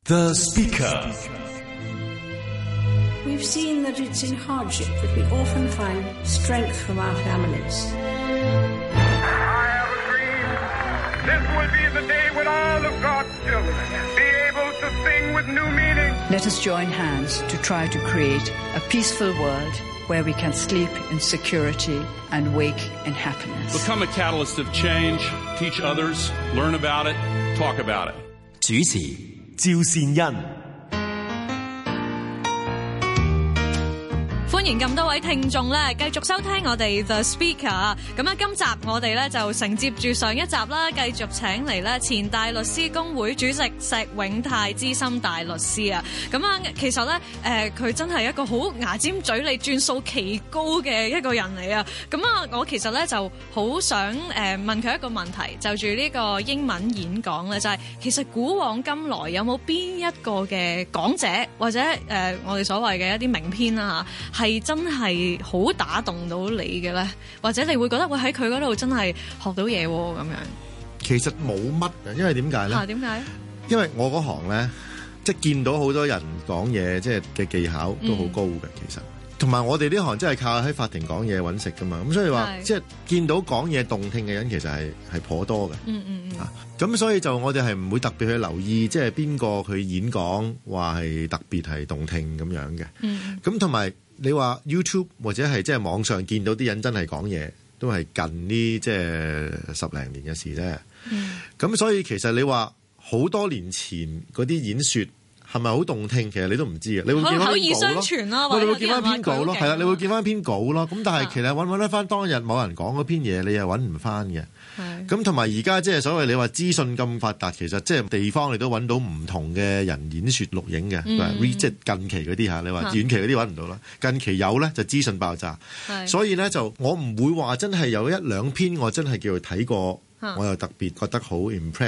The Speaker. We've seen that it's in hardship that we often find strength from our families. I have a dream. This will be the day when all of God's children be able to sing with new meaning. Let us join hands to try to create a peaceful world where we can sleep in security and wake in happiness. Become a catalyst of change, teach others, learn about it, talk about it. 主持趙善恩。 歡迎咁多位聽眾咧，繼續收聽我哋 The Speaker。咁啊，今集我哋咧就承接住上一集啦，繼續請嚟咧前大律師公會主席石永泰資深大律師啊。咁啊，其實咧佢真係一個好牙尖嘴利、轉數奇高嘅一個人嚟啊。咁啊，我其實咧就好想問佢一個問題，就住呢個英文演講咧，就係其實古往今來有冇邊一個嘅講者或者我哋所謂嘅一啲名篇啦嚇，係真係好打動到你嘅咧，或者你會覺得會喺佢嗰度真係學到嘢咁樣？ 其實冇乜嘅，因為點解咧？ 點解？ 因為我嗰行咧，即係見到好多人講嘢，即係嘅技巧都好高嘅，其實。同埋我哋呢行真係靠喺法庭講嘢揾食噶嘛，咁所以話即係見到講嘢動聽嘅人，其實係頗多嘅。咁所以就我哋係唔會特別去留意，即係邊個佢演講話係特別係動聽咁樣嘅。咁同埋你話 YouTube 或者係即係網上見到啲人真係講嘢，都係近呢即係10零年嘅事啫。咁所以其實你話好多年前嗰啲演說係咪好動聽？其實你都唔知嘅，你會見翻篇稿咯。我哋會見翻篇稿咯，係啦，你會見翻篇稿咯。咁但係其實揾得翻當日某人講嗰篇嘢，你又揾唔翻嘅。咁同埋而家即係所謂你話資訊咁發達，其實即係地方你都揾到唔同嘅人演說錄影嘅，即係近期嗰啲嚇。你話遠期嗰啲揾唔到啦，近期有咧就資訊爆炸。所以咧就我唔會話真係有一兩篇我真係叫佢睇過，我又特別覺得好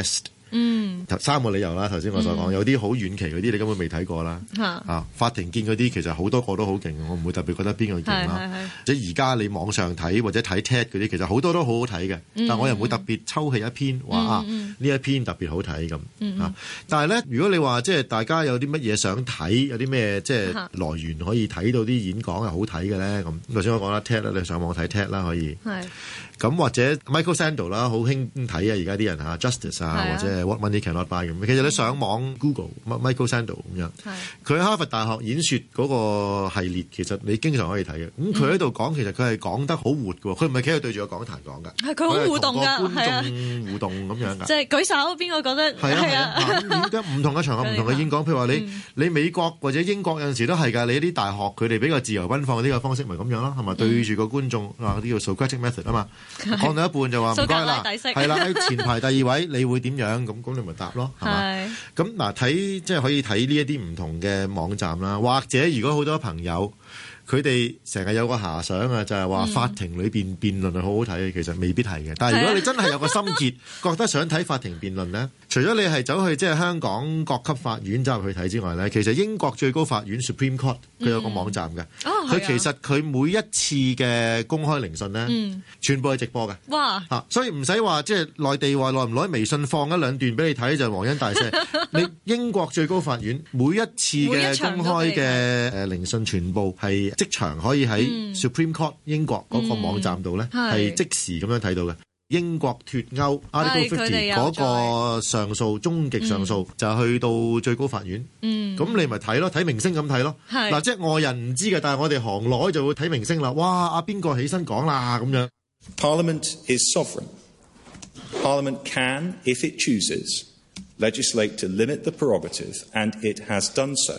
impressed。3個理由啦，頭先我所講，有啲好遠期嗰啲你根本未睇過啦。法庭見嗰啲其實好多個都好勁，我唔會特別覺得邊個勁啦。即係而家你網上睇或者睇 TED 嗰啲，其實好多都好好睇嘅，但我又唔會特別抽起一篇話呢一篇特別好睇咁。但係咧，如果你話即係大家有啲乜嘢想睇，有啲咩即係來源可以睇到啲演講係好睇嘅咧，咁頭先我講啦 TED 啦，你上網睇 TED 啦可以。咁或者 Michael Sandel 啦，好興睇啊！而家啲人嚇 Justice 啊，或者 What Money Cannot Buy 咁。其實你上網 Google Michael Sandel 咁樣，佢喺哈佛大學演說嗰個系列，其實你經常可以睇嘅。咁佢喺度講，其實佢係講得好活嘅喎，佢唔係企喺度對住個講壇講㗎， 係佢好互動㗎， 觀眾互動咁樣㗎。 即係舉手，邊個覺得係啊？ 唔同嘅場合，唔同嘅演講，譬如話你美國或者英國有陣時都係㗎，你啲大學佢哋比較自由奔放呢個方式，咪咁樣咯，係咪對住個觀眾啊？呢個 Socratic method 啊嘛。講到一半就話唔該啦，係啦，喺前排第2位，你會點樣？咁你咪答咯，係嘛？咁嗱，睇即係可以睇呢一啲唔同嘅網站啦，或者如果好多朋友佢哋成日有個遐想啊，就係話法庭裏邊辯論係好好睇嘅，其實未必係嘅。但係如果你真係有個心結，覺得想睇法庭辯論咧，除咗你係走去即係香港各級法院走入去睇之外咧，其實英國最高法院 Supreme Court 佢有個網站嘅，佢其實佢每一次嘅公開聆訊咧，全部係直播嘅。哇！所以唔使話即係內地話耐唔耐微信放一兩段俾你睇就皇恩大赦。你英國最高法院每一次嘅公開嘅聆訊全部係即場可以喺 Supreme Court 英國嗰個網站度咧，係即時咁樣睇到嘅。英國脫歐 Article 50嗰個上訴終極上訴就去到最高法院。咁你咪睇咯，睇明星咁睇咯。嗱，即係外人唔知嘅，但係我哋行內就會睇明星啦。哇！阿邊個起身講啦咁樣。 Parliament is sovereign. Parliament can, if it chooses, legislate to limit the prerogative, and it has done so.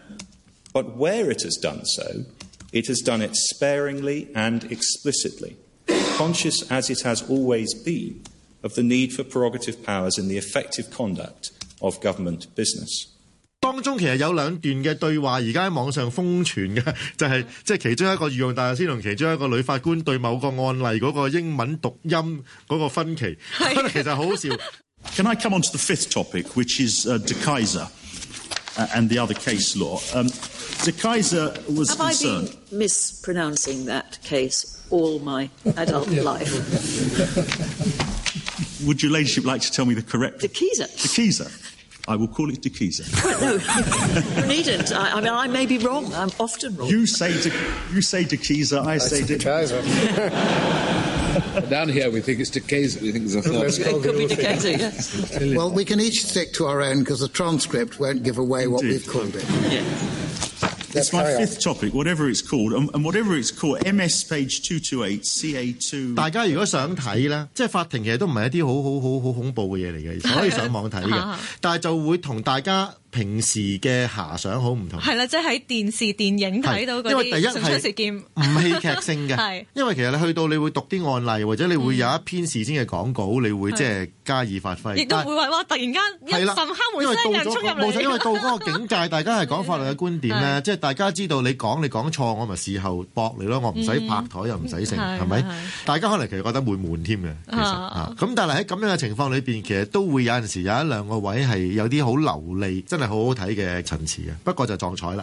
But where it has done so, it has done it sparingly and explicitly, conscious as it has always been of the need for prerogative powers in the effective conduct of government business. 當中其實有兩段嘅對話，而家喺網上瘋傳嘅，就係即係其中一個御用大律師同其中一個女法官對某個案例嗰個英文讀音嗰個分歧，其實好好笑。 Can I come on to the fifth topic, which is De Keyser and the other case law? De Keyser was concerned. Have I been mispronouncing that case all my adult life? Would your ladyship like to tell me the correct? De Keyser. De Keyser. I will call it Dekiza. No, you needn't. I mean, I may be wrong. I'm often wrong. You say Dekiza, I say Dekiza. Down here we think it's Dekiza. We think it's a thought. It could be Dekiza, yes. Well, we can each stick to our own because the transcript won't give away what we've called it. Yeah. It's my fifth topic, whatever it's called, and whatever it's called, MS page 228, CA2。 大家如果想睇咧，即係法庭其實都唔係一啲好恐怖嘅嘢嚟嘅，其實可以上網睇嘅，但係就會同大家平時嘅遐想好唔同。 係啦，即係喺電視電影睇到嗰啲神出事件， 唔戲劇性嘅。因為其實你去到你會讀啲案例，或者你會有一篇事先嘅講稿，你會即係加以發揮。 亦都會話突然間一陣敲門聲人衝入嚟。冇錯， 因為到嗰個境界，大家係講法律嘅觀點咧，即係大家知道你講錯，我咪事後駁你咯，我唔使拍台又唔使成，係咪？大家可能其實覺得會悶添嘅，其實咁但係喺咁樣嘅情況裏邊，其實都會有陣時有一兩個位係有啲好流利，真係好好睇嘅陳詞嘅，不過就撞彩啦。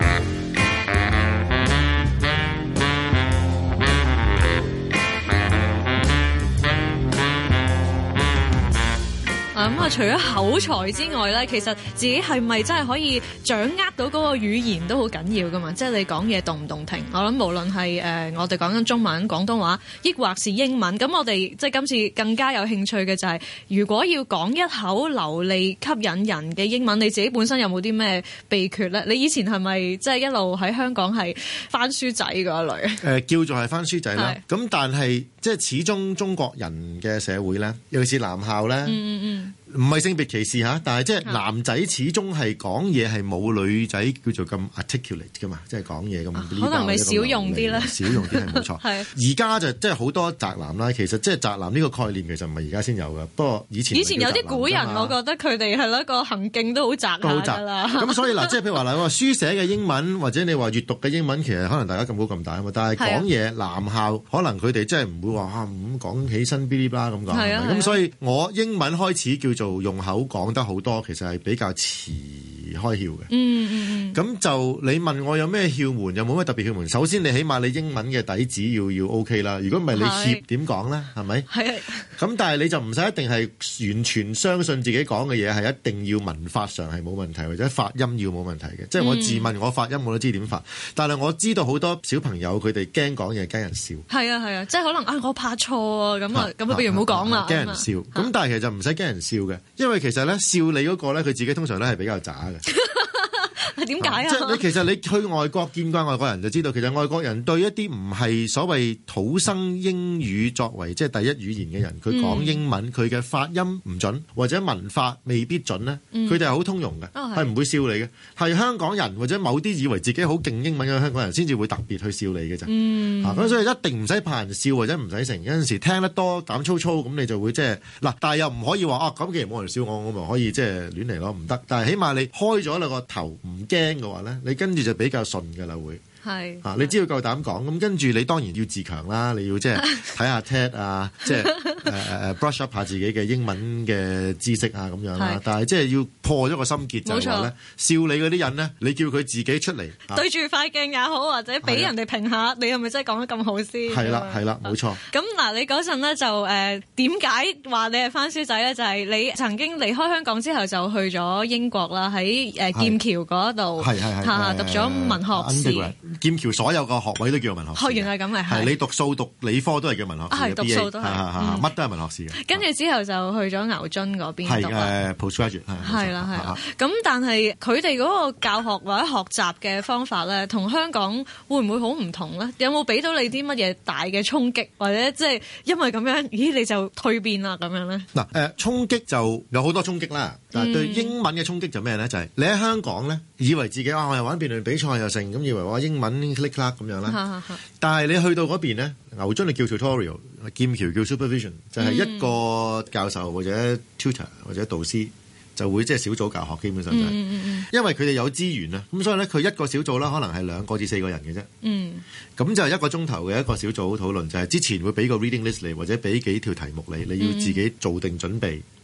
除咗口才之外咧，其實自己係咪真係可以掌握到嗰個語言都好緊要噶嘛？即係你講嘢動唔動聽。我諗無論係我哋講緊中文、廣東話，抑或是英文，咁我哋即係今次更加有興趣嘅就係，如果要講一口流利、吸引人嘅英文，你自己本身有冇啲咩秘訣咧？你以前係咪即係一路喺香港係翻書仔嗰一類？ 叫做係翻書仔啦。咁但係即係始終中國人嘅社會咧，尤其是男校咧。唔係性別歧視嚇，但係即係男仔始終係講嘢係冇女仔叫做咁 articulate 噶嘛，即係講嘢咁。 可能咪少用啲啦， 少用啲係冇錯。而家就即係好多宅男啦，其實即係宅男呢個概念其實唔係而家先有㗎，不過以前有啲古人，我覺得佢哋係一個行徑都好宅下㗎啦。 咁所以嗱，即係譬如話嗱，書寫嘅英文或者你話閱讀嘅英文，其實可能大家咁高咁大啊嘛，但係講嘢男校可能佢哋真係唔會話咁講起身嗶哩吧咁講。咁所以我英文開始叫做用口講得好多，其實係比較遲開竅嘅。咁就你問我有咩竅門，有冇咩特別竅門？首先你起碼你英文嘅底子要 OK 啦。如果唔係你怯點講咧，係咪？咁但係你就唔使一定係完全相信自己講嘅嘢係一定要文法上係冇問題，或者發音要冇問題嘅。即係我自問我發音我都知點發，但係我知道好多小朋友佢哋驚講嘢驚人笑。係啊，即係可能我怕錯啊咁不如唔好講啦。驚人笑，咁但係其實唔使驚人笑嘅，因為其實咧笑你嗰個咧佢自己通常咧係比較渣嘅。點解啊？即係其實你去外國見慣外國人就知道，其實外國人對一啲唔係所謂土生英語作為即係第一語言嘅人，佢講英文佢嘅發音唔準或者文法未必準咧，佢哋係好通用嘅，係唔會笑你嘅。係香港人或者某啲以為自己好勁英文嘅香港人先至會特別去笑你嘅啫。咁所以一定唔使怕人笑或者唔使成。有陣時聽得多膽粗粗咁，你就會即係嗱，但係又唔可以話咁既然冇人笑我咪可以即係亂嚟咯，唔得。但係起碼你開咗你個頭唔驚嘅話咧，你跟住就比較順㗎啦會。你只要夠膽講，咁跟住你當然要自強啦，你要即係睇下 TED 啊，即係brush up 下自己嘅英文嘅知識啊咁樣啦。但係即係要破咗個心結就係話咧，笑你嗰啲人咧，你叫佢自己出嚟對住塊鏡也好，或者俾人哋評下，你係咪真係講得咁好先？係啦，冇錯。咁嗱，你嗰陣咧就點解話你係番書仔咧？就係你曾經離開香港之後就去咗英國啦，喺劍橋嗰度讀咗文學士。 劍橋所有個學位都叫文學士。 原來咁嘅係你讀數讀理科都係叫文學士。 讀數都係乜都係文學士嘅。跟住之後就去咗牛津嗰邊讀啦。 postgraduate 係啦。咁但係佢哋嗰個教學或者學習嘅方法咧，同香港會唔會好唔同咧？有冇俾到你啲乜嘢大嘅衝擊，或者即係因為咁樣，咦你就蛻變啦咁樣咧？ 嗱衝擊就有好多衝擊啦。但係對英文嘅衝擊就咩咧？就係你喺香港咧，以為自己我又玩辯論比賽又成，咁以為我英文 click 啦咁樣啦。但係你去到嗰邊咧，牛津就叫 tutorial， 劍橋叫 supervision， 就係一個教授或者 tutor 或者導師就會即係小組教學，基本上就係因為佢哋有資源啊，咁所以咧佢一個小組啦，可能係2個至4個人嘅啫。咁就1個鐘頭嘅一個小組討論，就係之前會俾個 reading list 嚟，或者俾幾條題目你要自己做定準備。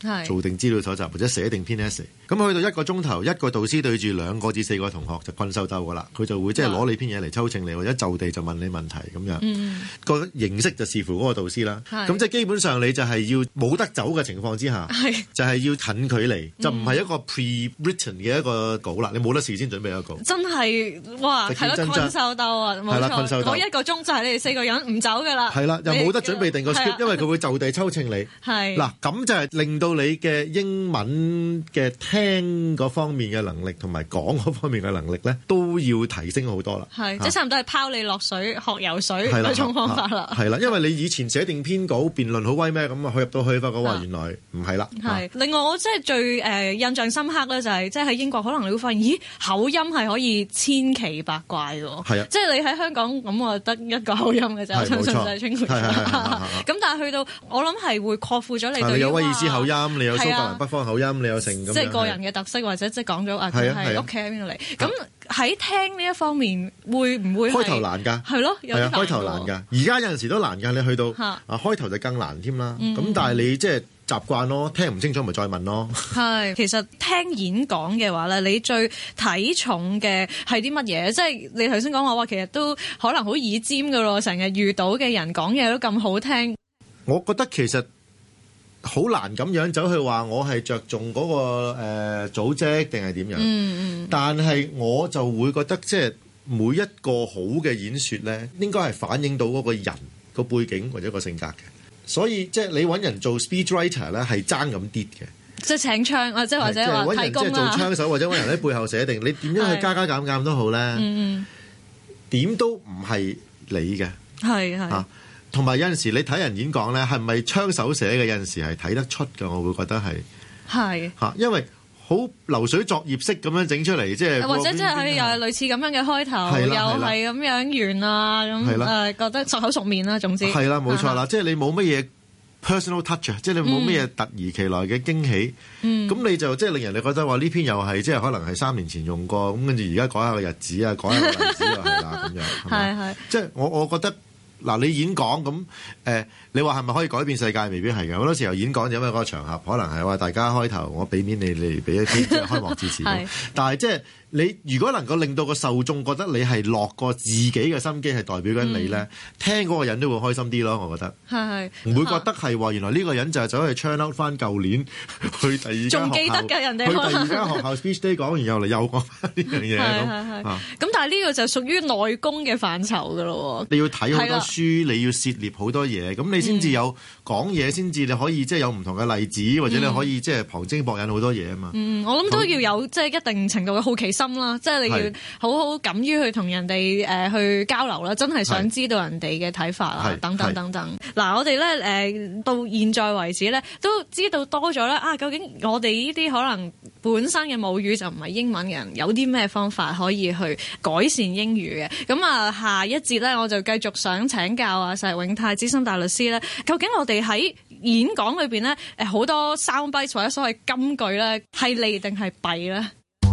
做定資料搜集或者寫定篇 essay。咁去到1個鐘頭，一個導師對住2個至4個同學就困獸鬥噶啦，佢就會即係攞你篇嘢嚟抽秤你，或者就地就問你問題咁樣。個形式就視乎嗰個導師啦。咁即係基本上你就係要冇得走嘅情況之下，就係要近距離，就唔係一個 pre-written 嘅一個稿啦。你冇得事先準備一個稿。真係哇，係咯，困獸鬥啊，冇錯。嗰1個鐘就係你哋4個人唔走噶啦。係啦，又冇得準備定個 script，因為佢會就地抽秤你。係嗱，咁就係令到你嘅英文嘅聽嗰方面嘅能力同埋講嗰方面嘅能力咧，都要提升好多啦。係，即係差唔多係拋你落水學游水嗰種方法啦。係啦，因為你以前寫定篇稿辯論好威咩咁啊，去入到去發覺話原來唔係啦。係，另外我即係最印象深刻咧，就係即係喺英國可能你會發現，咦，口音係可以千奇百怪喎。係啊，即係你喺香港咁我得一個口音嘅啫，我相信就係清佢。咁但係去到我諗係會擴闊咗你對。你有威爾斯口音，你有蘇格蘭北方口音，你有成咁。即係個人嘅特色，或者即係講咗佢係屋企喺邊度嚟。咁喺聽呢一方面，會唔會開頭難㗎？係咯，有啲難。開頭難㗎，而家有陣時都難㗎。你去到開頭就更難添啦。咁但係你即係習慣咯，聽唔清楚咪再問咯。係，其實聽演講嘅話咧，你最睇重嘅係啲乜嘢？即係你頭先講話，其實都可能好耳尖㗎咯。成日遇到嘅人講嘢都咁好聽。我覺得其實好難咁樣走去話我係着重嗰個組織定係點樣。但係我就會覺得即係每一個好嘅演說咧，應該係反映到嗰個人個背景或者個性格嘅。所以即係你揾人做 speech writer 咧，係爭咁啲嘅。即係請槍啊！即係或者話提供啦。即係做槍手或者揾人喺背後寫定，你點樣去加加減減都好咧。點都唔係你嘅。係。同埋有陣時你睇人演講咧，係咪槍手寫嘅？有陣時係睇得出嘅，我會覺得係嚇，因為好流水作業式咁樣整出嚟，即係或者即係佢又係類似咁樣嘅開頭，又係咁樣完啊咁覺得熟口熟面啦，總之係啦，冇錯啦，即係你冇乜嘢 personal touch 即係你冇乜嘢突如其來嘅驚喜，咁你就即係令人哋覺得話呢篇又係即係可能係3年前用過，咁跟住而家改下個日子啊，改下個例子又係啦咁樣，係即係我覺得。嗱，你演講咁你話係咪可以改變世界？未必係嘅。好多時候演講就因為嗰個場合，可能係話大家開頭我俾面你嚟俾一啲即係開幕致辭。但係即係你如果能夠令到個受眾覺得你係落過自己嘅心機，係代表緊你咧，聽嗰個人都會開心啲咯。我覺得係唔會覺得係話原來呢個人就係走去 churn out 翻舊年去第二間學校，仲記得㗎人哋去第二間學校 speech day 講完又嚟又講翻呢樣嘢咁。咁但係呢個就屬於內功嘅範疇㗎咯。你要睇好多書，你要涉獵好多嘢，咁你先至有講嘢，先至你可以即係有唔同嘅例子，或者你可以即係旁徵博引好多嘢啊嘛。我諗都要有即係一定程度嘅好奇心啦，即係你要好好敢於去同人哋去交流啦，真係想知道人哋嘅睇法啊，等等等等。嗱，我哋咧到現在為止咧都知道多咗啦。究竟我哋呢啲可能本身嘅母語就唔係英文嘅人，有啲咩方法可以去改善英語嘅？咁下一節咧我就繼續想請教石永泰資深大律師咧，究竟我哋喺演講裏邊咧好多 sound bites 或者所謂金句咧係利定係弊咧？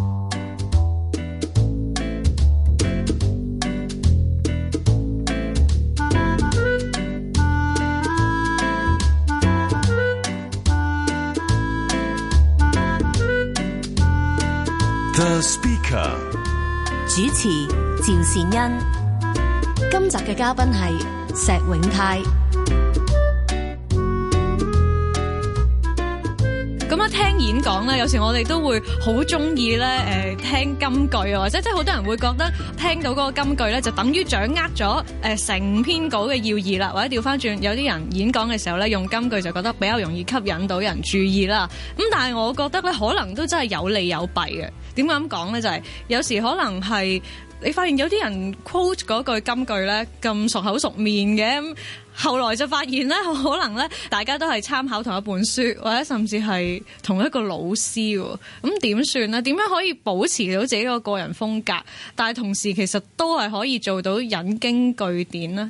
The Speaker 主持趙善恩，今集嘅嘉賓係石永泰。 咁聽演講咧，有時我哋都會好中意咧聽金句啊，或者即係好多人會覺得聽到嗰個金句咧，就等於掌握咗成篇稿嘅要義啦，或者調翻轉，有啲人演講嘅時候咧用金句就覺得比較容易吸引到人注意啦。咁但係我覺得咧，可能都真係有利有弊嘅。點解咁講咧？就係有時可能係你發現有啲人 quote 嗰句金句咧咁熟口熟面嘅，後來就發現咧可能咧大家都係參考同一本書，或者甚至係同一個老師喎。咁點算咧？點樣可以保持到自己個人風格，但係同時其實都係可以做到引經據典咧？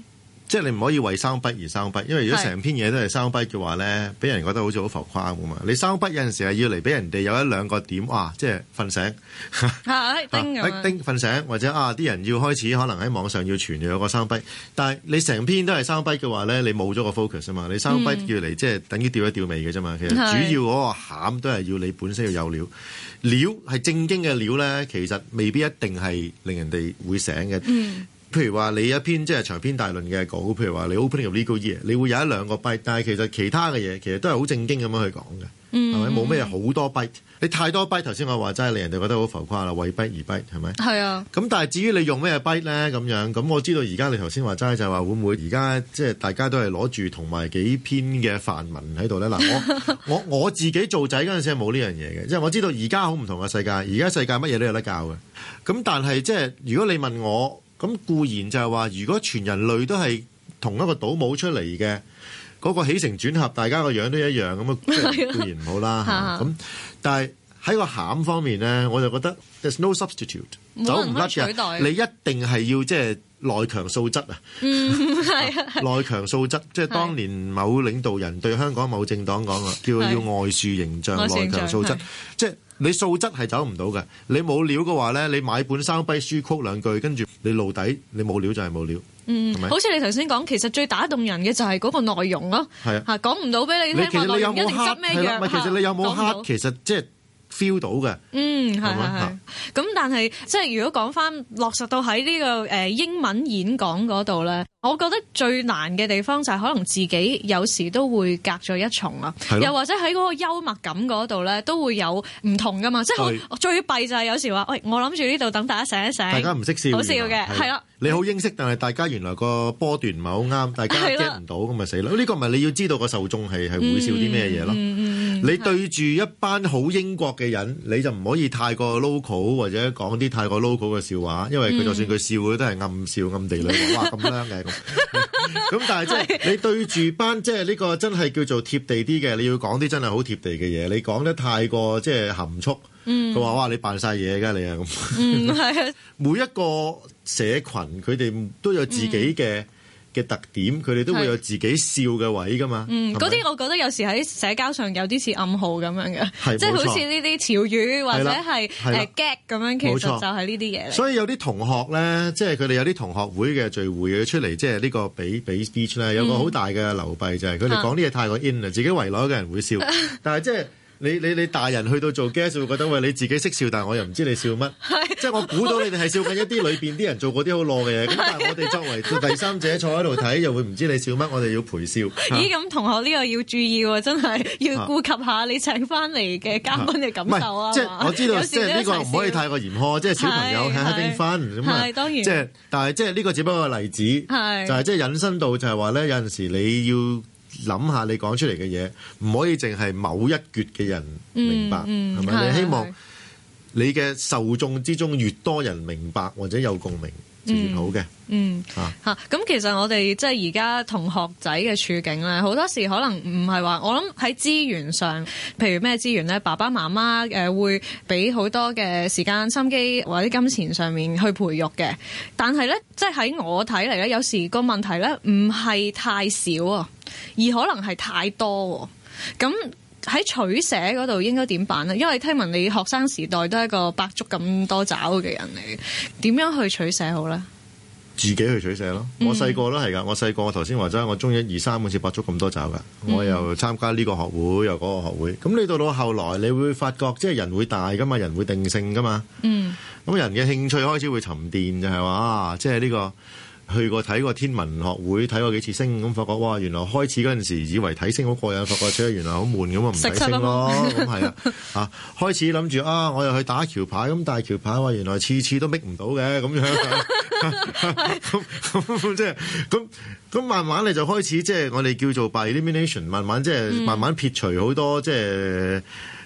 即係你唔可以為 soundbite 而 soundbite，因為如果成篇嘢都係 soundbite 嘅話咧，俾人覺得好似好浮誇咁嘛。你 soundbite 有陣時係要嚟俾人哋有一兩個點，哇！即係瞓醒，叮瞓醒，或者啲人要開始可能喺網上要傳有個 soundbite，但係你成篇都係 soundbite 嘅話咧，你冇咗個 focus 啊嘛。你 soundbite 要嚟即係等於吊一吊尾嘅啫嘛。其實主要嗰個餡都係要你本身要有料係正經嘅料咧，其實未必一定係令人哋會醒嘅。譬如話你一篇即係長篇大論嘅稿，譬如話你 opening of legal year， 你會有一兩個 bite， 但係其實其他嘅嘢其實都係好正經咁樣去講嘅，係咪？冇咩好多 bite， 你太多 bite， 頭先我話齋令人哋覺得好浮誇啦，為 bite 而 bite 係咪？係啊。咁但係至於你用咩 bite 咧咁樣，咁我知道而家你頭先話齋就係話會唔會而家即係大家都係攞住同埋幾篇嘅範文喺度咧？嗱，我自己做仔嗰陣時係冇呢樣嘢嘅，即係我知道而家好唔同嘅世界，而家世界乜嘢都有得教嘅。咁但係即係如果你問我。咁固然就係話，如果全人類都係同一個倒模出嚟嘅，嗰個起承轉合，大家個樣都一樣咁啊，固然唔好啦。咁但係喺個餡方面咧，我就覺得 there's no substitute， 走唔甩嘅。你一定係要即係內強素質啊！內強素質，即係當年某領導人對香港某政黨講啊，叫要外樹形象，內強素質，即係。你素質係走唔到嘅，你冇料嘅話咧，你買本soundbite書曲兩句，跟住你露底，你冇料就係冇料。 好似你頭先講，其實最打動人嘅就係嗰個內容咯。係啊，講唔到俾你聽，內容一定執咩樣？ 其實你有冇黑？其實即係 feel 到嘅。係。 咁但係即係如果講翻落實到喺呢個英文演講嗰度咧，我覺得最難嘅地方就係可能自己有時都會隔咗一重啊，又或者喺嗰個幽默感嗰度咧都會有唔同噶嘛，即係最弊就係有時話，喂，我諗住呢度等大家醒一醒，大家唔識笑， 好笑嘅，係啦。 你好英式，但係大家原來個波段唔係好啱，大家 get 唔到咁咪死咯。呢個咪你要知道個受眾係會笑啲咩嘢咯。你對住一班好英國嘅人，你就唔可以太過 local 或者講啲太過 local 嘅笑話，因為佢就算佢笑佢都係暗笑暗地裏話哇咁靚嘅咁。咁但係即係你對住班即係呢個真係叫做貼地啲嘅，你要講啲真係好貼地嘅嘢。你講得太過即係含蓄，佢話哇你扮晒嘢㗎你啊咁。係啊，每一個社群佢哋都有自己嘅特點，佢哋都會有自己笑嘅位噶嘛。嗰啲我覺得有時喺社交上有啲似暗號咁樣嘅，即係好似呢啲潮語或者係gag 咁樣，其實就係呢啲嘢嚟。所以有啲同學咧，即係佢哋有啲同學會嘅聚會出嚟，即係呢個俾 speech 咧，有個好大嘅流弊就係佢哋講啲嘢太過 in 啦，自己圍內嘅人會笑，但係即係。你大人去到做 guest 會覺得喂你自己識笑，但係我又唔知你笑乜，即係我估到你哋係笑緊一啲裏邊啲人做嗰啲好攞嘅嘢，咁但係我哋作為第三者坐喺度睇，又會唔知你笑乜，我哋要陪笑。咦？咁同學呢個要注意喎，真係要顧及下你請翻嚟嘅嘉賓嘅感受啊！即係我知道，即係呢個唔可以太過嚴苛，即係小朋友係having fun咁啊。當然，即係但係即係呢個只不過係例子，就係即係引申到就係話咧，有陣時你要。諗下你講出嚟嘅嘢，唔可以淨係某一橛嘅人明白，係咪？你希望你嘅受眾之中越多人明白或者有共鳴，就越好嘅。咁其實我哋即係而家同學仔嘅處境咧，好多時可能唔係話我諗喺資源上，譬如咩資源咧，爸爸媽媽會俾好多嘅時間、心機或者金錢上面去培育嘅。但係咧，即係喺我睇嚟咧，有時個問題咧唔係太少啊，而可能係太多。咁喺取捨嗰度應該點辦咧？因為聽聞你學生時代都係一個百足咁多爪嘅人嚟，點樣去取捨好咧？自己去取捨咯。我細個都係㗎。我細個我頭先話齋，我中1、2、3好似百足咁多爪㗎。我又參加呢個學會，又嗰個學會。咁你到後來，你會發覺即係人會大㗎嘛，人會定性㗎嘛。咁人嘅興趣開始會沉澱，就係話即係呢個。去過睇過天文學會，睇過幾次星，咁發覺哇，原來開始嗰陣時以為睇星好過癮，發覺原來好悶，咁啊唔睇星咯，咁係啊，開始諗住我又去打橋牌，咁但係橋牌話原來次次都搣唔到嘅，咁樣，咁即係咁慢慢你就開始即係我哋叫做 by elimination，慢慢即係慢慢撇除好多即係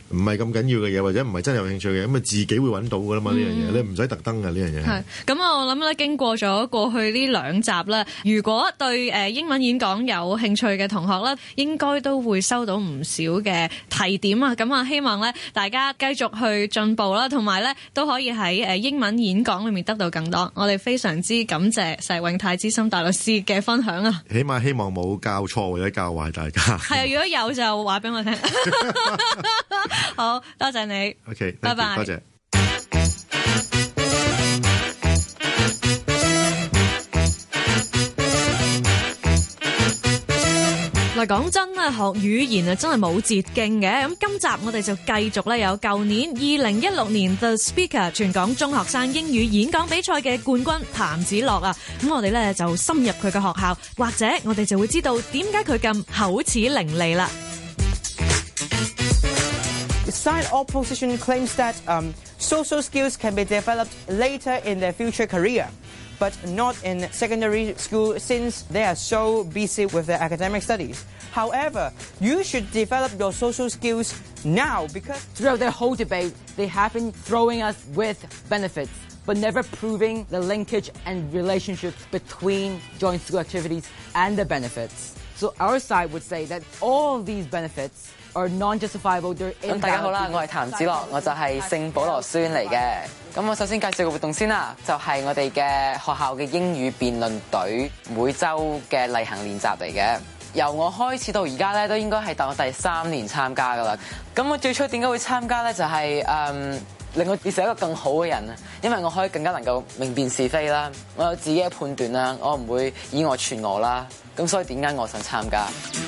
唔係咁緊要嘅嘢，或者唔係真係有興趣嘅，咁啊自己會揾到噶啦嘛呢樣嘢，你唔使特登嘅呢樣嘢。 係咁，我諗咧經過咗過去呢兩集咧，如果對英文演講有興趣嘅同學咧，應該都會收到唔少嘅提點啊！咁啊，希望咧大家繼續去進步啦，同埋咧都可以喺英文演講裏面得到更多。我哋非常之感謝石永泰資深大律師嘅分享啊！ 起碼希望冇教錯或者教壞大家。 係啊，如果有就話俾我聽。好多謝你。 OK， 拜拜。 多謝。 嗱，講真啊，學語言啊真係冇捷徑嘅。咁今集我哋就繼續咧有舊年2016年 The Speaker 全港中學生英語演講比賽嘅冠軍譚子樂啊。咁我哋咧就深入佢嘅學校，或者我哋就會知道點解佢咁口齒伶俐啦。 Side opposition claims that social skills can be developed later in their future career, but not in secondary school since they are so busy with their academic studies. However, you should develop your social skills now because throughout their whole debate, they have been throwing us with benefits, but never proving the linkage and relationships between joint school activities and the benefits. So our side would say that all of these benefits are non-justifiable. 咁大家好啦，我係譚子樂，我就係聖保羅書院嚟嘅。咁我首先介紹個活動先啦，就係我哋嘅學校嘅英語辯論隊每週嘅例行練習嚟嘅。由我開始到而家咧，都應該係我第3年參加噶啦。咁我最初點解會參加咧？就係令我變成一個更好嘅人啊！因為我可以更加能夠明辨是非啦，我有自己嘅判斷啦，我唔會以訛傳訛啦。咁所以點解我想參加？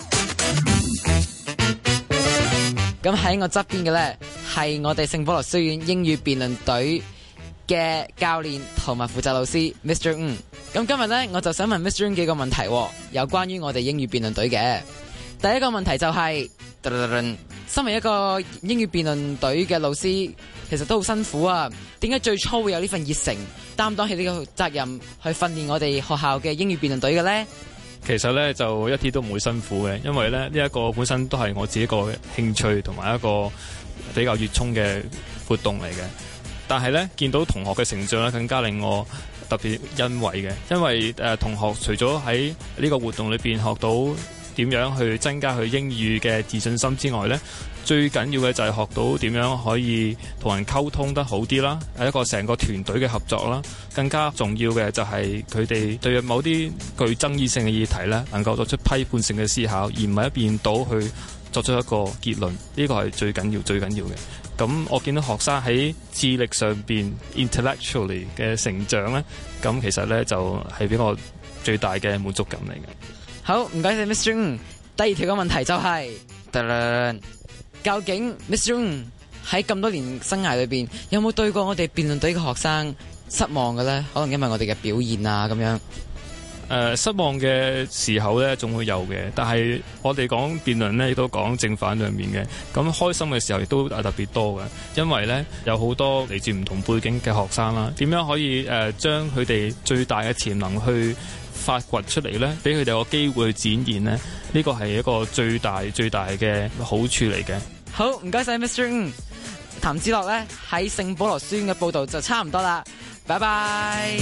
咁喺我側邊嘅咧，係我哋聖保羅書院英語辯論隊嘅教練同埋負責老師 Mr. Ng。咁今日咧，我就想問 Mr. Ng 幾個問題，有關於我哋英語辯論隊嘅。第一個問題就係，身為一個英語辯論隊嘅老師，其實都好辛苦啊。點解最初會有呢份熱誠，擔當起呢個責任去訓練我哋學校嘅英語辯論隊嘅咧？ 其實咧就一啲都唔會辛苦嘅，因為咧呢一個本身都係我自己個興趣同埋一個比較熱衷嘅活動嚟嘅。但係咧見到同學嘅成長咧，更加令我特別欣慰嘅，因為同學除咗喺呢個活動裏邊學到點樣去增加佢英語嘅自信心之外咧，最緊要嘅就係學到點樣可以同人溝通得好啲啦，係一個成個團隊嘅合作啦。更加重要嘅就係佢哋對某啲具爭議性嘅議題咧，能夠作出批判性嘅思考，而唔係一邊倒去作出一個結論。呢個係最緊要嘅。咁我見到學生喺智力上邊 intellectually 嘅成長咧，咁其實咧就係俾我最大嘅滿足感嚟嘅。 好，唔該晒 Mr. Ng。第二條嘅問題就係，究竟 Mr. Ng 喺咁多年生涯裏邊，有冇對過我哋辯論隊嘅學生失望嘅咧？可能因為我哋嘅表現啊咁樣。 失望嘅時候咧，總會有嘅。但係我哋講辯論咧，亦都講正反兩面嘅。咁開心嘅時候亦都特別多嘅，因為咧有好多嚟自唔同背景嘅學生啦，點樣可以將佢哋最大嘅潛能去發掘出嚟咧，俾佢哋個機會去展現咧，呢個係一個最大嘅好處嚟嘅。 好，唔該晒 Mr. Ng。譚子樂咧喺聖保羅書院嘅報道就差唔多啦，拜拜。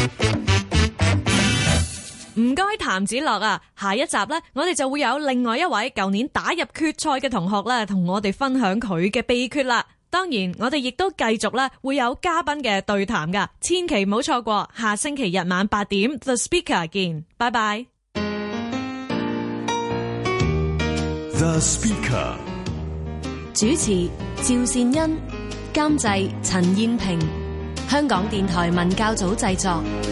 唔該譚子樂啊，下一集咧，我哋就會有另外一位舊年打入決賽嘅同學咧，同我哋分享佢嘅秘訣啦。當然，我哋亦都繼續咧會有嘉賓嘅對談噶，千祈唔好錯過。下星期日晚8點 The Speaker 見，拜拜。 The Speaker 主持趙善恩，監製陳燕萍，香港電台文教組製作。